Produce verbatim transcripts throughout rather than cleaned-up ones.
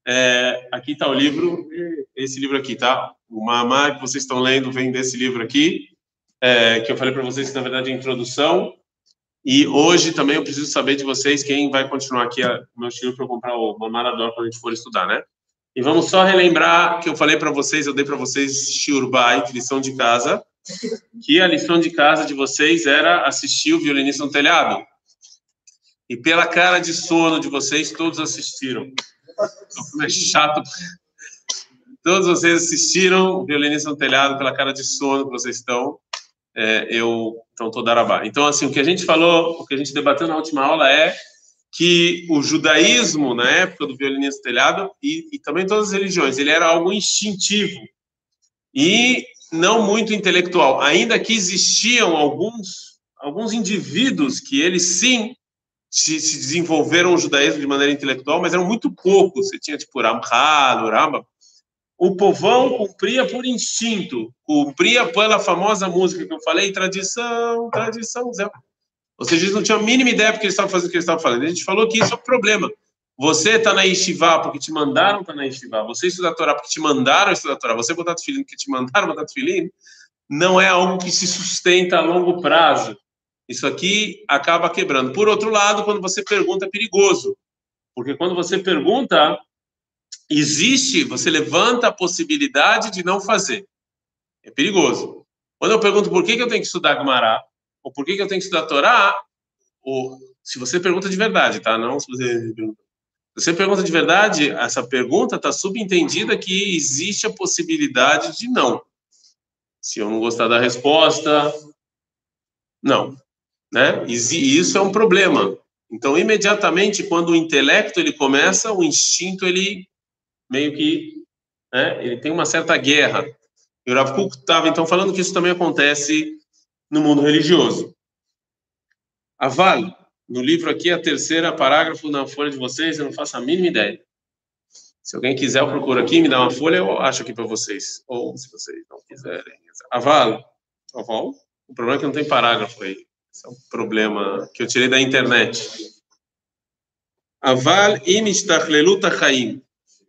É, aqui está o livro, esse livro aqui, tá? O Mamá que vocês estão lendo vem desse livro aqui, é, que eu falei para vocês que na verdade é a introdução. E hoje também eu preciso saber de vocês quem vai continuar aqui o meu estilo para eu comprar o Mamarador quando a gente for estudar, né? E vamos só relembrar que eu falei para vocês, eu dei para vocês Shiur Bait, lição de casa, que a lição de casa de vocês era assistir o Violinista no Telhado. E pela cara de sono de vocês, todos assistiram. Então, é chato. Todos vocês assistiram o Violinista no Telhado pela cara de sono que vocês estão. É, eu então tô darabá. Então assim, o que a gente falou, o que a gente debateu na última aula é que o judaísmo na época do Violinista no Telhado e, e também todas as religiões, ele era algo instintivo e não muito intelectual. Ainda que existiam alguns alguns indivíduos que eles sim se, se desenvolveram o judaísmo de maneira intelectual, mas eram muito poucos. Você tinha tipo Ramchal, Rambam. O povão cumpria por instinto, cumpria pela famosa música que eu falei, tradição, tradição, Zé. Ou seja, eles não tinham a mínima ideia porque eles estavam fazendo o que eles estavam falando. A gente falou que isso é o problema. Você está na Yeshiva porque te mandaram estar tá na Yeshiva. Você estuda a Torá porque te mandaram estudar a Torá. Você botar tefilim porque te mandaram botar tefilim. Não é algo que se sustenta a longo prazo. Isso aqui acaba quebrando. Por outro lado, quando você pergunta, é perigoso. Porque quando você pergunta, existe, você levanta a possibilidade de não fazer. É perigoso. Quando eu pergunto por que, que eu tenho que estudar Gemara, ou por que, que eu tenho que estudar Torá, ou se você pergunta de verdade, tá? Não se você pergunta. Se você pergunta de verdade, essa pergunta está subentendida que existe a possibilidade de não. Se eu não gostar da resposta, não. Né? E isso é um problema. Então, imediatamente, quando o intelecto ele começa, o instinto ele meio que, né, ele tem uma certa guerra. E o Rav Kook estava então falando que isso também acontece no mundo religioso. Aval, no livro aqui, a terceira parágrafo na folha de vocês, eu não faço a mínima ideia. Se alguém quiser, eu procuro aqui, me dá uma folha, eu acho aqui para vocês. Ou se vocês não quiserem. Aval, Aval, o problema é que não tem parágrafo aí. Esse é um problema que eu tirei da internet. Aval im ishtachlelut hachaim.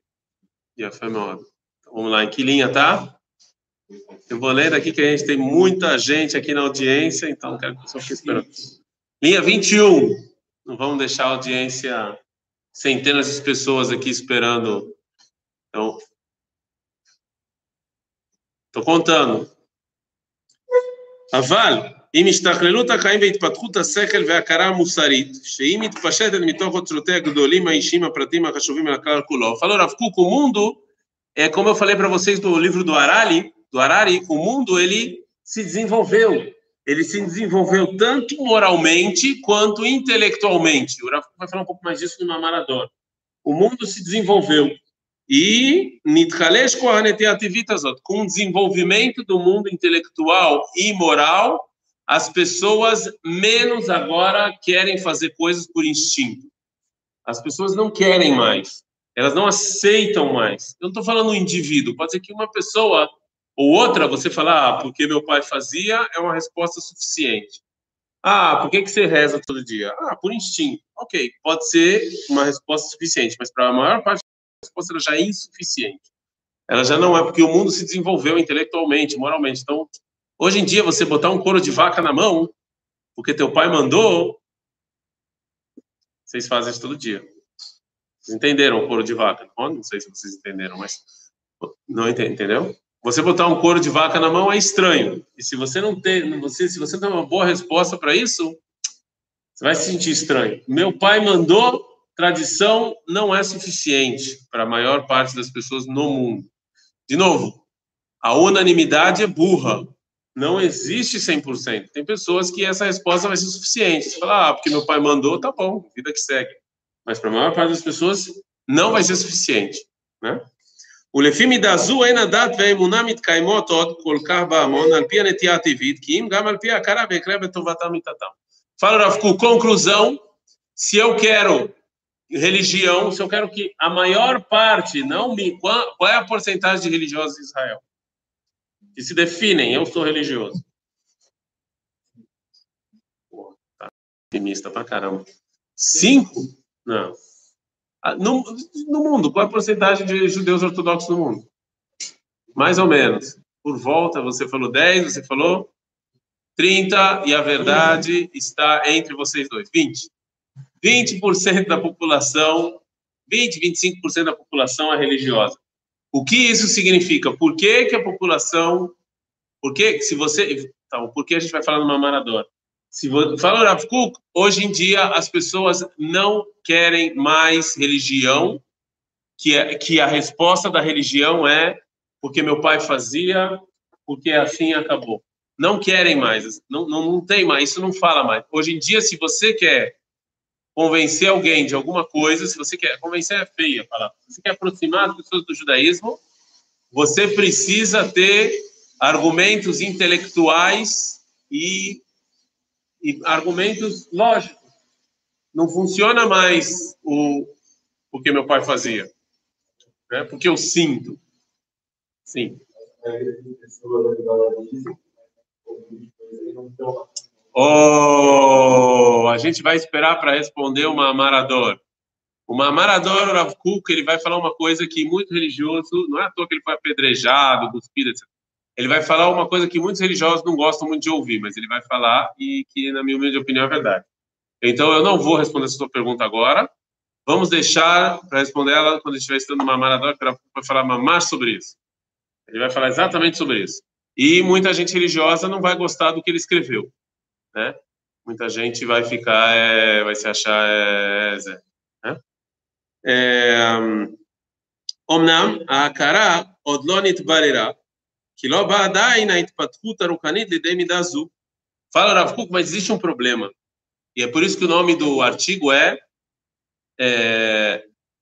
Vamos lá, em que linha tá? Eu vou ler daqui que a gente tem muita gente aqui na audiência, então quero que o pessoal fique esperando. Linha vinte e um. Não vamos deixar a audiência, centenas de pessoas aqui esperando. Então, estou contando. Aval. אם השתכללות החיים והתפתחות השכל וההכרה המוסרית, שהיא מתפשטת מתוך אוצרותיה הגדולים האישיים הפרטיים החשובים לכלל כולו. Falou Rav Kook, o mundo, é como eu falei para vocês do livro do Harari, do Harari, o mundo ele se desenvolveu. Ele se desenvolveu tanto moralmente quanto intelectualmente. O Rav Kook vai falar um pouco mais disso no Mamarador. O mundo se desenvolveu. E com o desenvolvimento do mundo intelectual e moral, as pessoas menos agora querem fazer coisas por instinto. As pessoas não querem mais. Elas não aceitam mais. Eu não estou falando um indivíduo. Pode ser que uma pessoa ou outra, você falar, ah, porque meu pai fazia, é uma resposta suficiente. Ah, por que, que você reza todo dia? Ah, por instinto. Ok, pode ser uma resposta suficiente, mas para a maior parte a resposta ela já é insuficiente. Ela já não é, porque o mundo se desenvolveu intelectualmente, moralmente. Então, hoje em dia, você botar um couro de vaca na mão, porque teu pai mandou, vocês fazem isso todo dia. Vocês entenderam o couro de vaca? Não sei se vocês entenderam, mas não entendeu? Você botar um couro de vaca na mão é estranho. E se você não tem, você, se você tem uma boa resposta para isso, você vai se sentir estranho. Meu pai mandou, tradição não é suficiente para a maior parte das pessoas no mundo. De novo, a unanimidade é burra. Não existe cem por cento. Tem pessoas que essa resposta vai ser suficiente. Você fala, ah, porque meu pai mandou, tá bom, vida que segue. Mas para a maior parte das pessoas, não vai ser suficiente. Né? ולפי מידה זו אין הדת והאמונה מתקיימות עוד כל כך בהמון על פי הנטייה הטבעית, כי אם גם על פי ההכרה ויקרה בטובתם מיתתם. Fala, Rav Kook, conclusão, se eu quero religião, se eu quero que a maior parte, não me, qual, qual é a porcentagem de religiosos em Israel? Que se definem, eu sou religioso. Pô, tá otimista pra caramba. Cinco? Não. No, no mundo, qual é a porcentagem de judeus ortodoxos no mundo? Mais ou menos. Por volta, você falou dez, você falou trinta, e a verdade está entre vocês dois, vinte. vinte por cento da população, vinte, vinte e cinco por cento da população é religiosa. O que isso significa? Por que que a população... Por que, se você... Então, por que a gente vai falar numa maradona? Se você fala Rav Kuk, hoje em dia as pessoas não querem mais religião, que, é, que a resposta da religião é porque meu pai fazia, porque assim acabou. Não querem mais, não, não, não tem mais, isso não fala mais. Hoje em dia, se você quer convencer alguém de alguma coisa, se você quer, convencer é feia a palavra, se você quer aproximar as pessoas do judaísmo, você precisa ter argumentos intelectuais e, e argumentos lógicos. Não funciona mais o, o que meu pai fazia, né? Porque eu sinto. Sim. Oh, a gente vai esperar para responder uma Marador. O Marador, o Rav Kuk, ele vai falar uma coisa que muito religioso, não é à toa que ele foi apedrejado, cuspido, etcétera. Ele vai falar uma coisa que muitos religiosos não gostam muito de ouvir, mas ele vai falar e que, na minha humilde opinião, é verdade. Então, eu não vou responder essa sua pergunta agora. Vamos deixar para responder ela quando estiver estudando uma Marador, que o Rav Kuk vai falar mais sobre isso. Ele vai falar exatamente sobre isso. E muita gente religiosa não vai gostar do que ele escreveu, né? Muita gente vai ficar, é, vai se achar, é, Zé, né? אומנם ההכרה עוד לא נתבררה, כי לא באה עדיין ההתפתחות הרוחנית לידי מידה זו. Fala, Rav Kuk, mas existe um problema. E é por isso que o nome do artigo é, é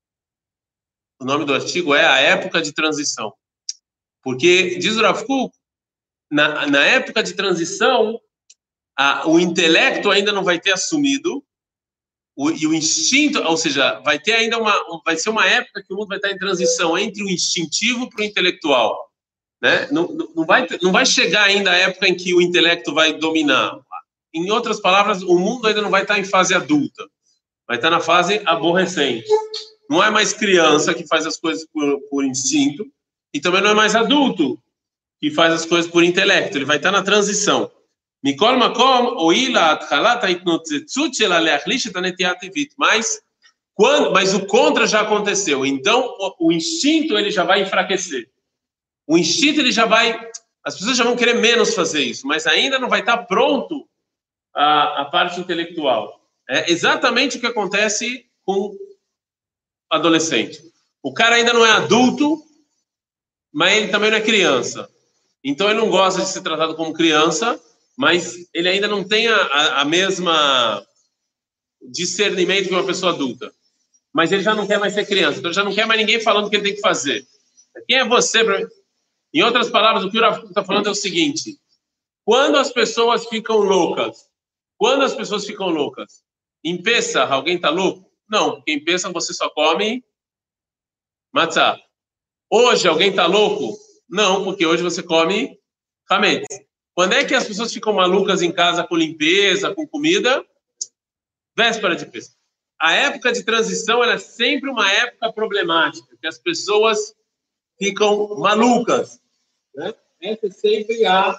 o nome do artigo é a época de transição. Porque, diz o Rav Kuk, na, na época de transição, a, o intelecto ainda não vai ter assumido, o, e o instinto, ou seja, vai ter ainda uma, vai ser uma época que o mundo vai estar em transição entre o instintivo para o intelectual, né? Não, não, vai, não vai chegar ainda a época em que o intelecto vai dominar. Em outras palavras, o mundo ainda não vai estar em fase adulta, vai estar na fase aborrecente. Não é mais criança que faz as coisas por, por instinto, e também não é mais adulto que faz as coisas por intelecto, ele vai estar na transição. Mikol makom oila atchalat haitnotzetzut shela leachlish et hanetiat tevit. Mas quando, mas o contra já aconteceu. Então o, o instinto ele já vai enfraquecer. O instinto ele já vai, as pessoas já vão querer menos fazer isso, mas ainda não vai estar pronto a, a parte intelectual. É exatamente o que acontece com adolescente. O cara ainda não é adulto, mas ele também não é criança. Então ele não gosta de ser tratado como criança, mas ele ainda não tem a, a, a mesma discernimento que uma pessoa adulta. Mas ele já não quer mais ser criança, então ele já não quer mais ninguém falando o que ele tem que fazer. Quem é você? Pra... Em outras palavras, o que o Rav Kuk está falando é o seguinte: quando as pessoas ficam loucas, quando as pessoas ficam loucas, em Pesach, alguém está louco? Não, porque em Pesach você só come matzah. Hoje alguém está louco? Não, porque hoje você come hametz. Quando é que as pessoas ficam malucas em casa com limpeza, com comida? Véspera de Pesach. A época de transição ela é sempre uma época problemática, que as pessoas ficam malucas, né? Essa é sempre a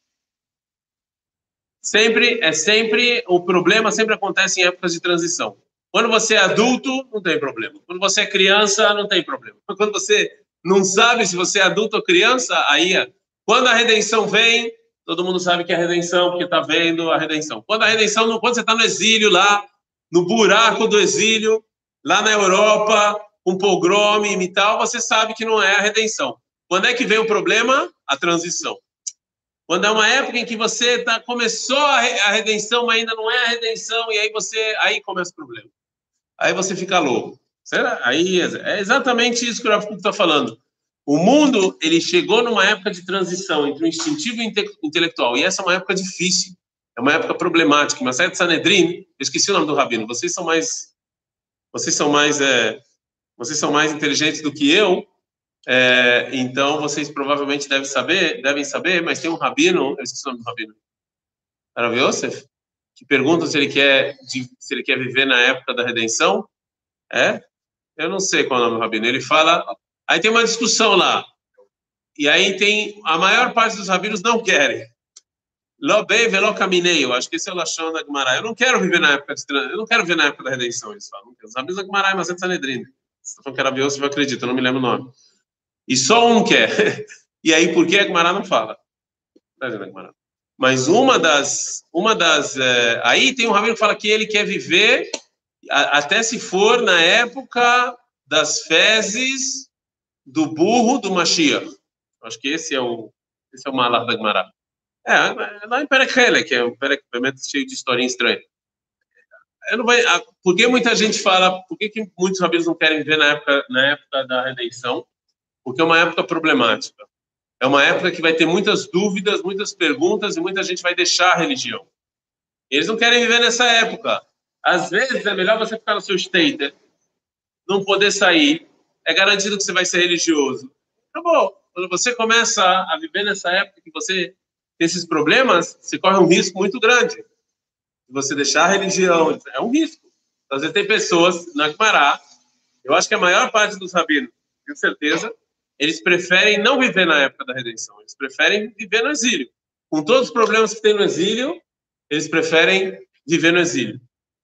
sempre é sempre o problema sempre acontece em épocas de transição. Quando você é adulto, não tem problema. Quando você é criança, não tem problema. Quando você não sabe se você é adulto ou criança, aí quando a redenção vem, todo mundo sabe que é a redenção, porque está vendo a redenção. Quando a redenção, quando você está no exílio lá, no buraco do exílio, lá na Europa, um pogrom e tal, você sabe que não é a redenção. Quando é que vem o problema? A transição. Quando é uma época em que você tá, começou a, re, a redenção, mas ainda não é a redenção, e aí você aí começa o problema. Aí você fica louco. Será? Aí é exatamente isso que o Rav Kuk está falando. O mundo ele chegou numa época de transição entre o instintivo e o inte, intelectual, e essa é uma época difícil, é uma época problemática. Mas Masechet Sanedrin, eu esqueci o nome do rabino. Vocês são mais, vocês são mais, é, vocês são mais inteligentes do que eu. É, então vocês provavelmente devem saber, devem saber, mas tem um rabino, eu esqueci o nome do rabino, Rav Yosef, que pergunta se ele quer, se ele quer viver na época da redenção, é? eu não sei qual é o nome do rabino, ele fala, aí tem uma discussão lá, e aí tem, a maior parte dos rabinos não querem. Lo bem, velo caminei, eu acho que esse é o Lashon da Gemara. Eu não quero viver na época de, eu não quero viver na época da redenção, eles falam. Os rabinos da Gemara é Masechet Sanedrin. Se você falando que era Bios, você vai acreditar, eu não me lembro o nome. E só um quer. E aí, por que a Gemara não fala? Mas uma das, uma das, é, aí tem um rabino que fala que ele quer viver a, até se for na época das fezes do burro do Mashiach. Acho que esse é o, esse é o malach da Gemara. É, lá em Perek Helek, que é um Perek cheio de historinha estranha. Eu não vai, por que muita gente fala, por que, que muitos rabinos não querem ver na época, na época da redenção? Porque é uma época problemática. É uma época que vai ter muitas dúvidas, muitas perguntas e muita gente vai deixar a religião. Eles não querem viver nessa época. Às vezes é melhor você ficar no seu state, não poder sair, é garantido que você vai ser religioso. Acabou. Quando você começa a viver nessa época que você tem esses problemas, você corre um risco muito grande. Se você deixar a religião, é um risco. Então, às vezes tem pessoas na Gemara, eu acho que a maior parte dos rabinos, tenho certeza, eles preferem não viver na época da redenção, eles preferem viver no exílio. Com todos os problemas que tem no exílio, eles preferem viver no exílio.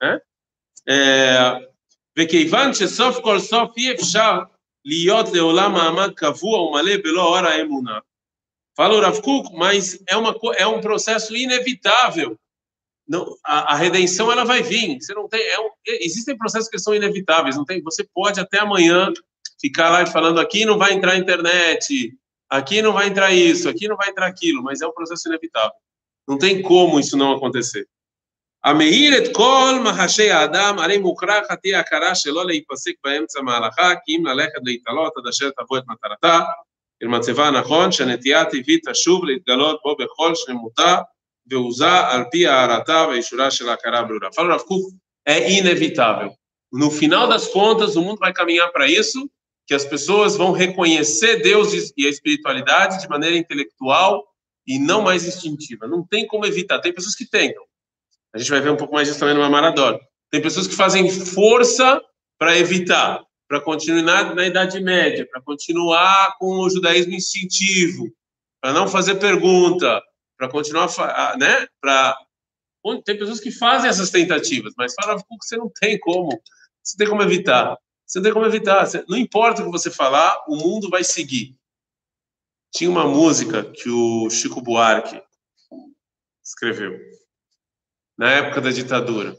וכיוון שסוף כל סוף אי אפשר להיות לעולם מעמד קבוע ומלא בלא אור האמונה. Fala o Rav Kuk, mas é, uma, é um processo inevitável. Não, a, a redenção ela vai vir. Você não tem, é um, existem processos que são inevitáveis. Não tem, você pode até amanhã ficar lá falando aqui não vai entrar internet, aqui não vai entrar isso, aqui não vai entrar aquilo, mas é um processo inevitável. Não tem como isso não acontecer. המאיר את כל מחשי האדם, הרי מוכרח תהיה הכרה שלא להיפסק באמצע מהלכה, כי אם ללכת להתעלות עד אשר תבוא את מטרתה, אל מצבה הנכון, שהנטייה הטבעית תשוב להתגלות בו בכל שלמותה, ועוזה על פי הערתה ואישורה של ההכרה הברורה. Fala Rav Kuk, é inevitável. No final das contas, o mundo vai caminhar para isso, que as pessoas vão reconhecer Deus e a espiritualidade de maneira intelectual e não mais instintiva. Não tem como evitar. Tem pessoas que tentam. A gente vai ver um pouco mais disso também no Mamarador. Tem pessoas que fazem força para evitar, para continuar na, na Idade Média, para continuar com o judaísmo instintivo, para não fazer pergunta, para continuar, né? Para tem pessoas que fazem essas tentativas, mas fala que você não tem como, você tem como evitar, você não tem como evitar. Você, não importa o que você falar, o mundo vai seguir. Tinha uma música que o Chico Buarque escreveu na época da ditadura,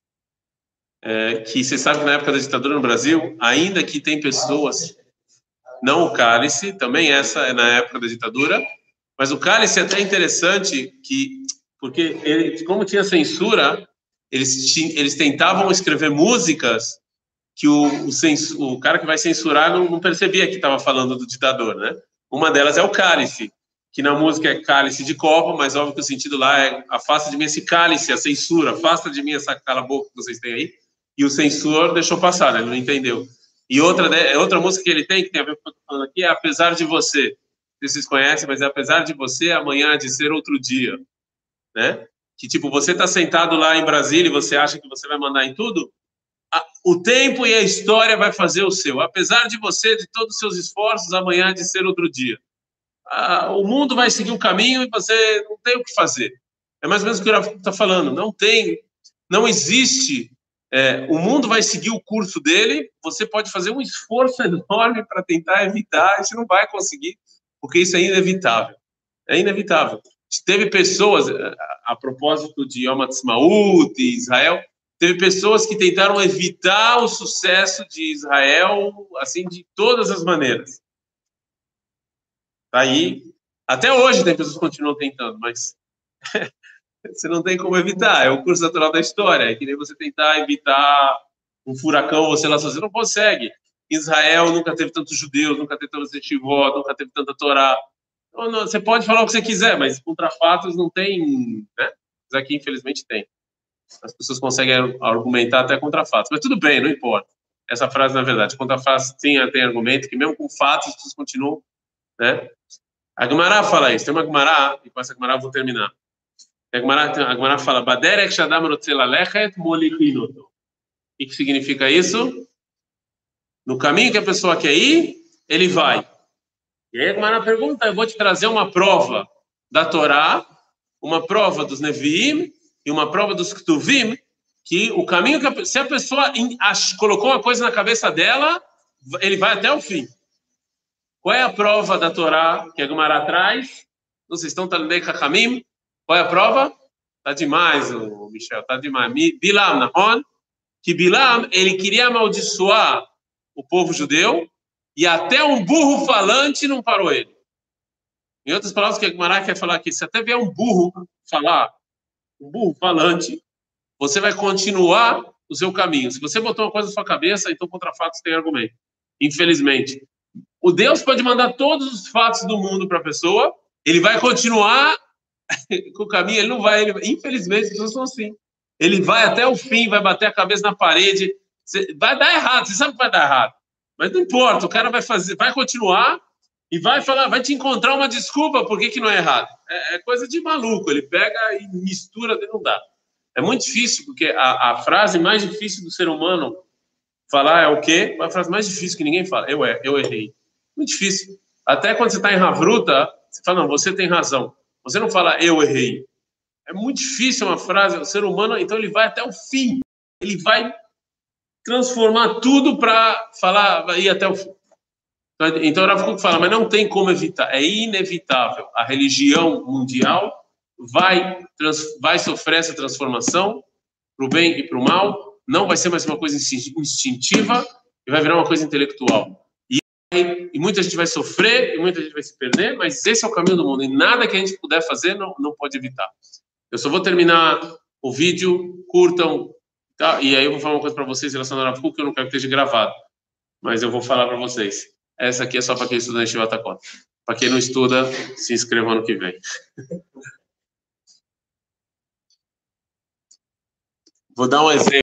é, que você sabe que na época da ditadura no Brasil, ainda que tem pessoas, não o cálice, também essa é na época da ditadura, mas o cálice é até interessante, que, porque ele, como tinha censura, eles, eles tentavam escrever músicas que o, o, cens, o cara que vai censurar não, não percebia que estava falando do ditador, né? Uma delas é o cálice, que na música é cálice de copo, mas óbvio que o sentido lá é afasta de mim esse cálice, a censura, afasta de mim essa cala boca que vocês têm aí, e o censor deixou passar, né? Ele não entendeu. E outra, né, outra música que ele tem, que tem a ver com o que eu estou falando aqui, é Apesar de Você. Vocês conhecem, mas é Apesar de Você, amanhã há de ser outro dia, né? Que tipo, você está sentado lá em Brasília e você acha que você vai mandar em tudo, o tempo e a história vai fazer o seu. Apesar de você, de todos os seus esforços, amanhã há de ser outro dia. Ah, o mundo vai seguir um caminho e você não tem o que fazer. É mais ou menos o que o Rav está falando. Não tem, não existe. É, o mundo vai seguir o curso dele. Você pode fazer um esforço enorme para tentar evitar. E você não vai conseguir, porque isso é inevitável. É inevitável. Teve pessoas, a, a propósito de Yom Ha'atzmaut e Israel, teve pessoas que tentaram evitar o sucesso de Israel, assim, de todas as maneiras. Tá aí, até hoje tem pessoas que continuam tentando, mas você não tem como evitar, é o curso natural da história, é que nem você tentar evitar um furacão, você lá sozinho, não consegue. Israel nunca teve tantos judeus, nunca teve tantos etivó, nunca teve tanta Torá. Então, não, você pode falar o que você quiser, mas contra fatos não tem, né? Mas aqui, infelizmente, tem. As pessoas conseguem argumentar até contra fatos, mas tudo bem, não importa. Essa frase, na verdade, contra fatos tem, tem argumento, que mesmo com fatos, as pessoas continuam, né? A Gemara fala isso. Tem uma Gemara, e com essa Gemara eu vou terminar. A Gemara, a Gemara fala, Baderek shadam rotze lalechet molichin oto. O que significa isso? No caminho que a pessoa quer ir, ele vai. E aí a Gemara pergunta, eu vou te trazer uma prova da Torá, uma prova dos Neviim e uma prova dos Ktuvim, que o caminho que a, se a pessoa in, ach, colocou uma coisa na cabeça dela, ele vai até o fim. Qual é a prova da Torá que a Gemara traz? Não sei se estão Talmidei Chachamim. Qual é a prova? Tá demais, o Michel, tá demais. Bilam, Nahon, que Bilam, ele queria amaldiçoar o povo judeu e até um burro falante não parou ele. Em outras palavras, que a Gemara quer falar aqui, se até vier um burro falar, um burro falante, você vai continuar o seu caminho. Se você botou uma coisa na sua cabeça, então contra fatos tem argumento. Infelizmente. O Deus pode mandar todos os fatos do mundo para a pessoa, ele vai continuar com o caminho, ele não vai, ele, infelizmente, as pessoas são assim. Ele vai até o fim, vai bater a cabeça na parede, vai dar errado, você sabe que vai dar errado. Mas não importa, o cara vai fazer, vai continuar e vai falar, vai te encontrar uma desculpa por que, que não é errado. É, é coisa de maluco, ele pega e mistura, não dá. É muito difícil, porque a, a frase mais difícil do ser humano falar é o quê? A frase mais difícil que ninguém fala, eu, é, eu errei. Muito difícil. Até quando você está em Havruta, você fala, não, você tem razão. Você não fala, eu errei. É muito difícil uma frase, o ser humano, então ele vai até o fim. Ele vai transformar tudo para falar, vai ir até o fim. Então, o Rav Kook fala, mas não tem como evitar, é inevitável. A religião mundial vai, trans, vai sofrer essa transformação para o bem e para o mal, não vai ser mais uma coisa instintiva e vai virar uma coisa intelectual. E muita gente vai sofrer, e muita gente vai se perder, mas esse é o caminho do mundo, e nada que a gente puder fazer não, não pode evitar. Eu só vou terminar o vídeo, curtam, tá? E aí eu vou falar uma coisa para vocês relacionada ao Rav Kook, que eu não quero que esteja gravado, mas eu vou falar para vocês. Essa aqui é só para quem estuda em Yeshivat HaKotel. Para quem não estuda, se inscreva ano que vem. Vou dar um exemplo.